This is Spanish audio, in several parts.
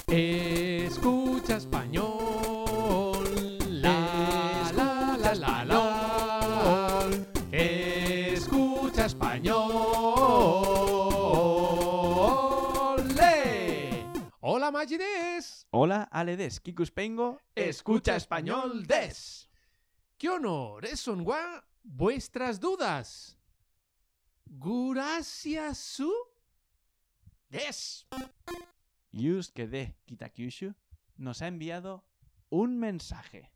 Escucha español. La la la la la. Escucha español. ¡Le! Hola Magides. Hola, Aledes, Kikuspengo. Escucha español des. ¡Qué honor! Son vuestras dudas. Gracias su des. Yusuke de Kitakyushu nos ha enviado un mensaje.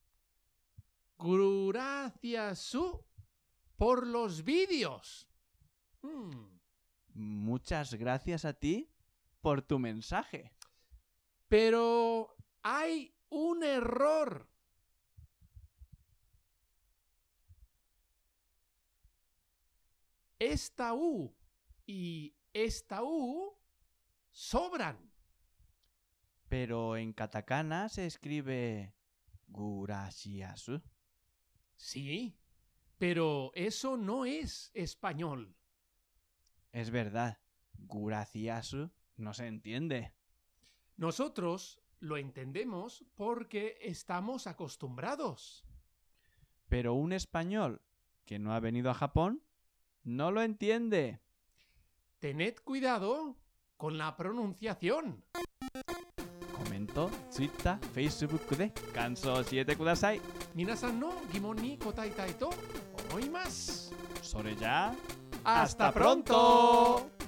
Gracias su por los vídeos. Muchas gracias a ti por tu mensaje. Pero hay un error. Esta U y esta U sobran. Pero en katakana se escribe Gurashiasu. Sí, pero eso no es español. Es verdad, Gurashiasu no se entiende. Nosotros lo entendemos porque estamos acostumbrados. Pero un español que no ha venido a Japón no lo entiende. Tened cuidado con la pronunciación. Comento, Twitter, Facebook de Kanso 7 kudasai. Minasan no gimon ni kotaitai to omoimasu. Sore ya. ¡Hasta pronto!